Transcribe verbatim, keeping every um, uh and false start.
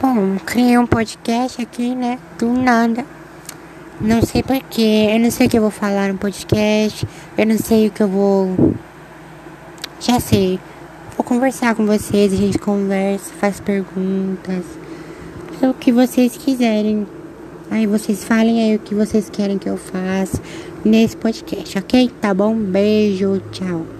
Bom, criei um podcast aqui, né? Do nada. Não sei porquê. Eu não sei o que eu vou falar no podcast. Eu não sei o que eu vou. Já sei. Vou conversar com vocês. A gente conversa, faz perguntas. É o que vocês quiserem. Aí vocês falem aí o que vocês querem que eu faça nesse podcast, ok? Tá bom? Beijo, tchau.